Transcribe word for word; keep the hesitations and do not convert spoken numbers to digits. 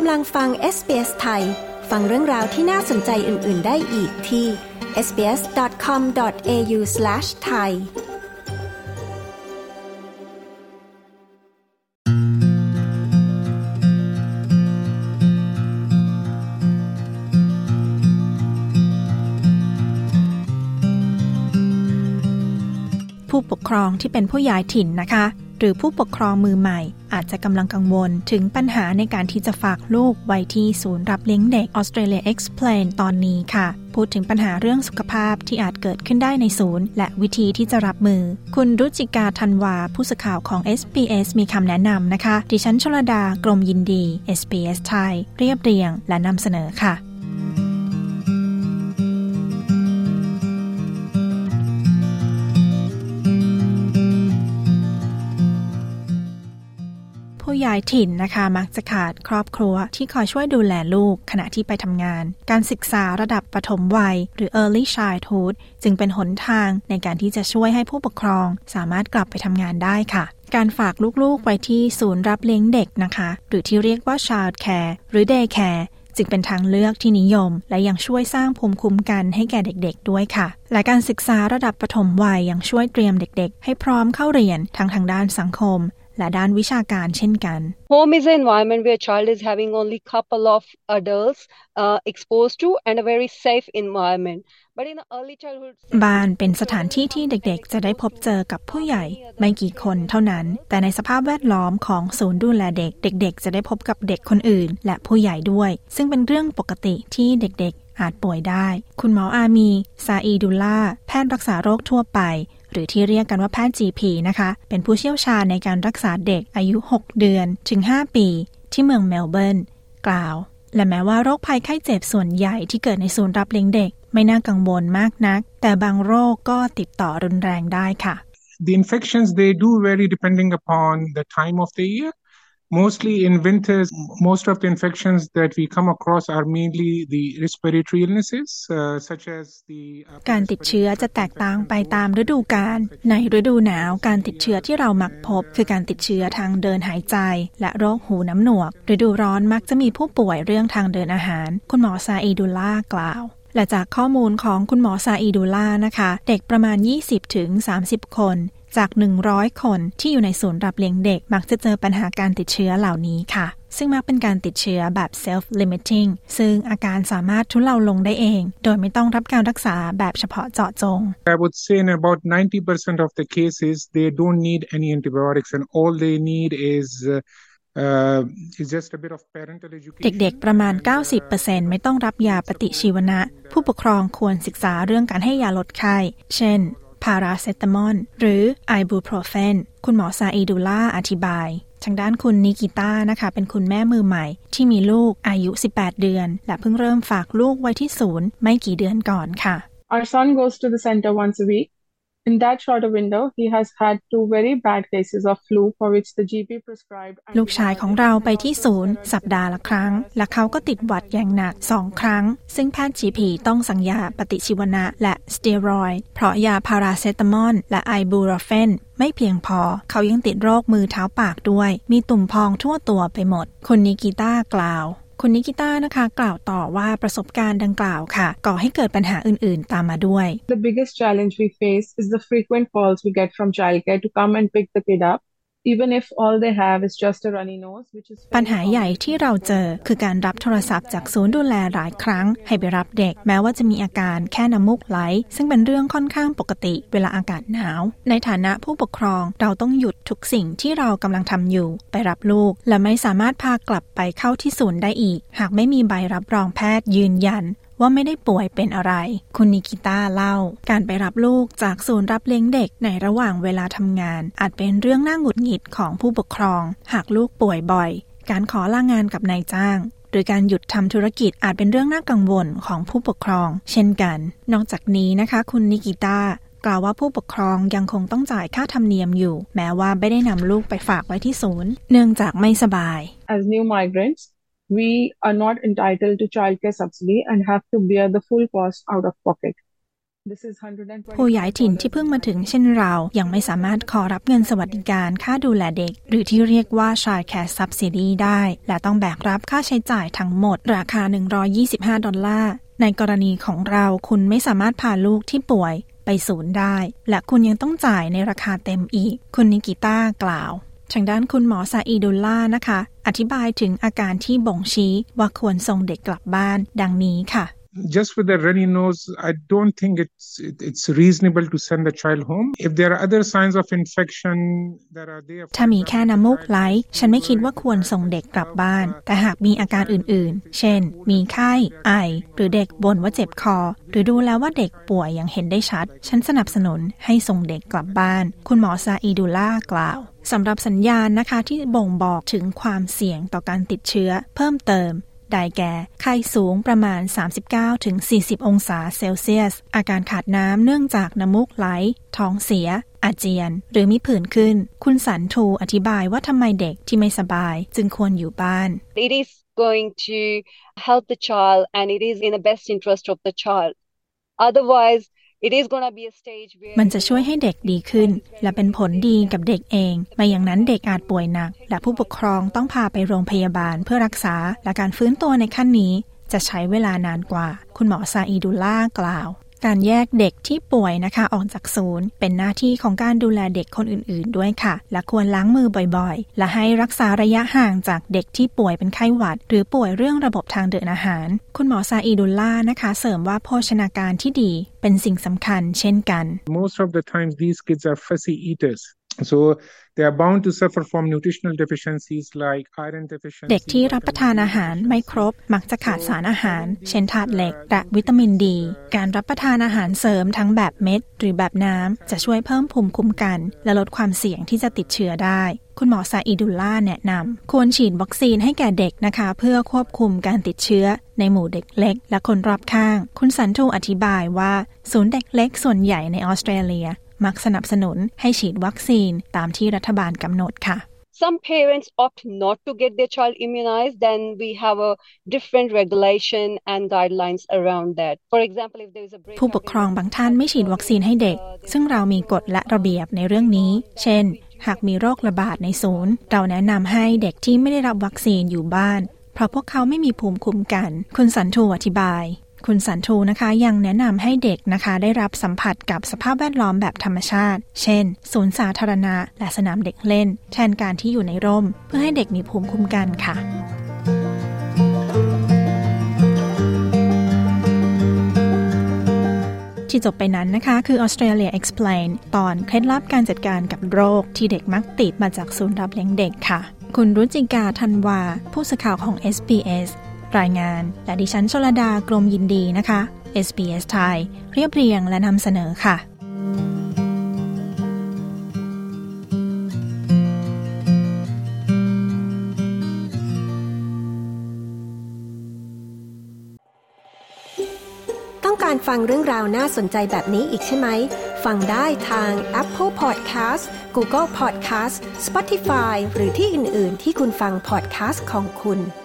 กำลังฟัง เอส บี เอส ไทยฟังเรื่องราวที่น่าสนใจอื่นๆได้อีกที่ เอส บี เอส ดอท คอม ดอท เอ ยู สแลช ไทยผู้ปกครองที่เป็นผู้ย้ายถิ่นนะคะหรือผู้ปกครองมือใหม่อาจจะกำลังกังวลถึงปัญหาในการที่จะฝากลูกไว้ที่ศูนย์รับเลี้ยงเด็ก Australia Explain ตอนนี้ค่ะพูดถึงปัญหาเรื่องสุขภาพที่อาจเกิดขึ้นได้ในศูนย์และวิธีที่จะรับมือคุณรุจิกาธันวาผู้สื่อข่าวของ เอส บี เอส มีคำแนะนำนะคะดิฉันชลดากรมยินดี เอส บี เอส ไทยเรียบเรียงและนำเสนอค่ะผู้ย้ายถิ่นนะคะมักจะขาดครอบครัวที่คอยช่วยดูแลลูกขณะที่ไปทำงานการศึกษาระดับปฐมวัยหรือ Early Childhood จึงเป็นหนทางในการที่จะช่วยให้ผู้ปกครองสามารถกลับไปทำงานได้ค่ะการฝากลูกๆไว้ที่ศูนย์รับเลี้ยงเด็กนะคะหรือที่เรียกว่า Child Care หรือ Day Care จึงเป็นทางเลือกที่นิยมและยังช่วยสร้างภูมิคุ้มกันให้แก่เด็กๆด้วยค่ะและการศึกษาระดับปฐมวัยยังช่วยเตรียมเด็กๆให้พร้อมเข้าเรียนทั้งทางด้านสังคมและด้านวิชาการเช่นกัน Home is an environment where child is having only couple of adults uh, exposed to and a very safe environment. But in the early childhood บ้านเป็นสถานที่ที่เด็กๆจะได้พบเจอกับผู้ใหญ่ไม่กี่คนเท่านั้นแต่ในสภาพแวดล้อมของศูนย์ดูแลเด็กเด็กๆจะได้พบกับเด็กคนอื่นและผู้ใหญ่ด้วยซึ่งเป็นเรื่องปกติที่เด็กๆอาจป่วยได้คุณหมออามีซาอีดุลลาแพทย์รักษาโรคทั่วไปหรือที่เรียกกันว่าแพทย์ จี พี นะคะเป็นผู้เชี่ยวชาญในการรักษาเด็กอายุหกเดือนถึงห้าปีที่เมืองเมลเบิร์นกล่าวและแม้ว่าโรคภัยไข้เจ็บส่วนใหญ่ที่เกิดในศูนย์รับเลี้ยงเด็กไม่น่ากังวลมากนักแต่บางโรคก็ติดต่อรุนแรงได้ค่ะ The infections they do vary depending upon the time of the year. Mostly in winters, most of the infections that we come across are mainly the respiratory illnesses, uh, such as the การติดเชื้อจะแตกต่างไปตามฤดูกาลในฤดูหนาวการติดเชื้อที่เรามักพบคือการติดเชื้อทางเดินหายใจและโรคหูน้ำหนวกฤดูร้อนมักจะมีผู้ป่วยเรื่องทางเดินอาหารคุณหมอซาอีดุลลากล่าวและจากข้อมูลของคุณหมอซาอีดุลลานะคะเด็กประมาณ ยี่สิบถึงสามสิบ คนจากหนึ่งร้อยคนที่อยู่ในศูนย์รับเลี้ยงเด็กมักจะเจอปัญหาการติดเชื้อเหล่านี้ค่ะซึ่งมักเป็นการติดเชื้อแบบ self-limiting ซึ่งอาการสามารถทุเลาลงได้เองโดยไม่ต้องรับการรักษาแบบเฉพาะเจาะจง I would say in about ninety percent of the cases they don't need any antibiotics and all they need is uh, is just a bit of parental education เด็กๆประมาณ เก้าสิบเปอร์เซ็นต์ ไม่ต้องรับยาปฏิชีวนะผู้ปกครองควรศึกษาเรื่องการให้ยาลดไข้เช่นพาราเซตามอลหรือไอบูโปรเฟนคุณหมอซาอีดุลลาอธิบายทางด้านคุณนิกิต้านะคะเป็นคุณแม่มือใหม่ที่มีลูกอายุสิบแปดเดือนและเพิ่งเริ่มฝากลูกไว้ที่ศูนย์ไม่กี่เดือนก่อนค่ะ Our son goes to the center once a week. In that shorter window, he has had two very bad cases of flu for which the จี พี prescribed. ลูกชายของเราไปที่ศูนย์สัปดาห์ละครั้งและเขาก็ติดหวัดอย่างหนักสองครั้งซึ่งแพทย์ จี พี ต้องสั่งยาปฏิชีวนะและสเตียรอยด์เพราะยาพาราเซตามอลและไอบูโปรเฟนไม่เพียงพอเขายังติดโรคมือเท้าปากด้วยมีตุ่มพองทั่วตัวไปหมดคุณนิกิต้ากล่าวคุณนิกิต้านะคะกล่าวต่อว่าประสบการณ์ดังกล่าวค่ะก่อให้เกิดปัญหาอื่นๆตามมาด้วย The biggest challenge we face is the frequent calls we get from childcare to come and pick the kid up even if all they have is just a runny nose which is ปัญหาใหญ่ที่เราเจอคือการรับโทรศัพท์จากศูนย์ดูแลหลายครั้งให้ไปรับเด็กแม้ว่าจะมีอาการแค่น้ำมูกไหลซึ่งเป็นเรื่องค่อนข้างปกติเวลาอากาศหนาวในฐานะผู้ปกครองเราต้องหยุดทุกสิ่งที่เรากำลังทำอยู่ไปรับลูกและไม่สามารถพากลับไปเข้าที่ศูนย์ได้อีกหากไม่มีใบรับรองแพทย์ยืนยันว่าไม่ได้ป่วยเป็นอะไรคุณนิกิต้าเล่าการไปรับลูกจากศูนย์รับเลี้ยงเด็กในระหว่างเวลาทำงานอาจเป็นเรื่องน่าหงุดหงิดของผู้ปกครองหากลูกป่วยบ่อยการขอลางานกับนายจ้างหรือการหยุดทำธุรกิจอาจเป็นเรื่องน่ากังวลของผู้ปกครองเช่นกันนอกจากนี้นะคะคุณนิกิต้ากล่าวว่าผู้ปกครองยังคงต้องจ่ายค่าธรรมเนียมอยู่แม้ว่าไม่ได้นำลูกไปฝากไว้ที่ศูนย์เนื่องจากไม่สบาย As new migrants we are not entitled to childcare subsidy and have to bear the full cost out of pocket. ผู้ย้ายถิ่นที่เพิ่งมาถึงเช่นเรายังไม่สามารถขอรับเงินสวัสดิการค่าดูแลเด็กหรือที่เรียกว่า Child Care Subsidy ได้และต้องแบกรับค่าใช้จ่ายทั้งหมดราคาหนึ่งร้อยยี่สิบห้าดอลลาร์ในกรณีของเราคุณไม่สามารถพาลูกที่ป่วยไปศูนย์ได้และคุณยังต้องจ่ายในราคาเต็มอีกคุณนิกิต้ากล่าวทางด้านคุณหมอซาอีดุลลาห์นะคะอธิบายถึงอาการที่บ่งชี้ว่าควรส่งเด็กกลับบ้านดังนี้ค่ะ Just with a runny nose, I don't think it's it's reasonable to send the child home. If there are other signs of infection that are there, ถ้ามีแค่น้ำมูกไหลฉันไม่คิดว่าควรส่งเด็กกลับบ้านแต่หากมีอาการอื่นๆเช่นมีไข้ไอหรือเด็กบ่นว่าเจ็บคอหรือดูแล้วว่าเด็กป่วยอย่างเห็นได้ชัดฉันสนับสนุนให้ส่งเด็กกลับบ้านคุณหมอซาอีดุลลาห์กล่าวสำหรับสัญญาณนะคะที่บ่งบอกถึงความเสี่ยงต่อการติดเชื้อเพิ่มเติมได้แก่ไข้สูงประมาณ สามสิบเก้าถึงสี่สิบ องศาเซลเซียสอาการขาดน้ำเนื่องจากน้ำมูกไหลท้องเสียอาเจียนหรือมีผื่นขึ้นคุณสันทูอธิบายว่าทำไมเด็กที่ไม่สบายจึงควรอยู่บ้าน It is going to help the child and it is in the best interest of the child. Otherwise It is going to be a stage where มันจะช่วยให้เด็กดีขึ้นและเป็นผลดีกับเด็กเองไม่อย่างนั้นเด็กอาจป่วยหนักและผู้ปกครองต้องพาไปโรงพยาบาลเพื่อรักษาและการฟื้นตัวในขั้นนี้จะใช้เวลานานกว่าคุณหมอซาอีดุลลาห์กล่าวการแยกเด็กที่ป่วยนะคะออกจากศูนย์เป็นหน้าที่ของการดูแลเด็กคนอื่นๆด้วยค่ะและควรล้างมือบ่อยๆและให้รักษาระยะห่างจากเด็กที่ป่วยเป็นไข้หวัดหรือป่วยเรื่องระบบทางเดินอาหารคุณหมอซาอีดุลลาห์นะคะเสริมว่าโภชนาการที่ดีเป็นสิ่งสำคัญเช่นกัน Most of the time these kids are fussy eaters so they are bound to suffer from nutritional deficiencies like iron deficiency เด็กที่รับประทานอาหารไม่ครบมักจะขาดสารอาหารเช่นธาตุเหล็กและวิตามินดีการรับประทานอาหารเสริมทั้งแบบเม็ดหรือแบบน้ำจะช่วยเพิ่มภูมิคุ้มกันและลดความเสี่ยงที่จะติดเชื้อได้คุณหมอซาอีดุลลาห์แนะนำควรฉีดวัคซีนให้แก่เด็กนะคะเพื่อควบคุมการติดเชื้อในหมู่เด็กเล็กและคนรอบข้างคุณสันทูอธิบายว่าศูนย์เด็กเล็กส่วนใหญ่ในออสเตรเลียมักสนับสนุนให้ฉีดวัคซีนตามที่รัฐบาลกำหนดค่ะ Some parents opt not to get their child immunized, then we have a different regulation and guidelines around that. For example, if there is a break ผู้ปกครองบางท่านไม่ฉีดวัคซีนให้เด็กซึ่งเรามีกฎและระเบียบในเรื่องนี้เช่นหากมีโรคระบาดในศูนย์เราแนะนำให้เด็กที่ไม่ได้รับวัคซีนอยู่บ้านเพราะพวกเขาไม่มีภูมิคุ้มกันคุณสันทูอธิบายคุณสันทูนะคะยังแนะนำให้เด็กนะคะได้รับสัมผัสกับสภาพแวดล้อมแบบธรรมชาติเช่นศูนย์สาธารณะและสนามเด็กเล่นแทนการที่อยู่ในร่มเพื่อให้เด็กมีภูมิคุ้มกันค่ะที่จบไปนั้นนะคะคือ Australia Explain ตอนเคล็ดลับการจัดการกับโรคที่เด็กมักติดมาจากศูนย์รับเลี้ยงเด็กค่ะคุณรุจิกาธันวาผู้สื่อข่าวของ เอส บี เอสรายงานและดิฉันชลดากรมยินดีนะคะ เอส บี เอส ไทยเรียบเรียงและนำเสนอค่ะต้องการฟังเรื่องราวน่าสนใจแบบนี้อีกใช่ไหมฟังได้ทาง Apple Podcast Google Podcast Spotify หรือที่อื่นๆที่คุณฟัง podcast ของคุณ